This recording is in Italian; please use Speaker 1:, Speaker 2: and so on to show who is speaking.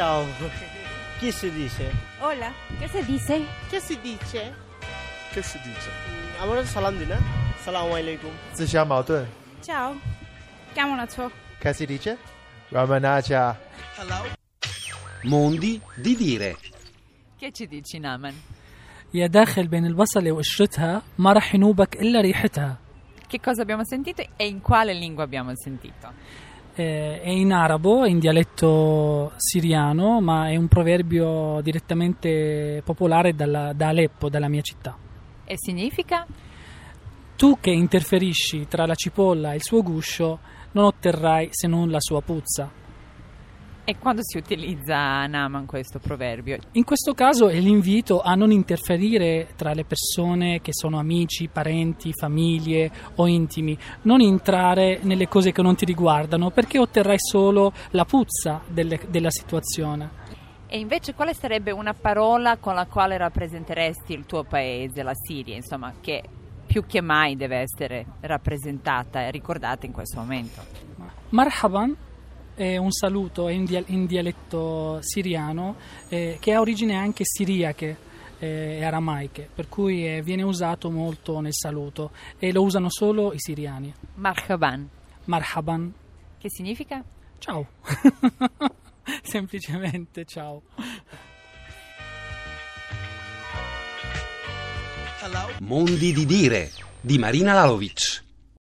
Speaker 1: Ciao. Chi si dice?
Speaker 2: Hola, ¿qué se dice?
Speaker 3: Che si dice?
Speaker 4: Che si dice?
Speaker 1: আমরা সালাম দিই না আসসালামু আলাইকুম
Speaker 4: 自相矛盾
Speaker 2: Ciao, chiamo una ciò.
Speaker 4: Che si dice? Ramanaja
Speaker 5: Mondi di dire.
Speaker 6: Che ci dici, Naman?
Speaker 7: يا داخل بين البصلة وقشرتها ما رح ينوبك إلا ريحتها.
Speaker 6: Che cosa abbiamo sentito e in quale lingua abbiamo sentito?
Speaker 7: È in arabo, è in dialetto siriano, ma è un proverbio direttamente popolare da Aleppo, dalla mia città.
Speaker 6: E significa?
Speaker 7: Tu che interferisci tra la cipolla e il suo guscio non otterrai se non la sua puzza.
Speaker 6: E quando si utilizza, Naman, questo proverbio?
Speaker 7: In questo caso è l'invito a non interferire tra le persone che sono amici, parenti, famiglie o intimi, non entrare nelle cose che non ti riguardano perché otterrai solo la puzza della situazione.
Speaker 6: E invece quale sarebbe una parola con la quale rappresenteresti il tuo paese, la Siria, insomma, che più che mai deve essere rappresentata e ricordata in questo momento?
Speaker 7: Marhaban è un saluto in dialetto siriano che ha origini anche siriache e aramaiche, per cui viene usato molto nel saluto e lo usano solo i siriani.
Speaker 6: Marhaban.
Speaker 7: Marhaban.
Speaker 6: Che significa?
Speaker 7: Ciao. Semplicemente ciao.
Speaker 5: Mondi di dire di Marina Lalovic.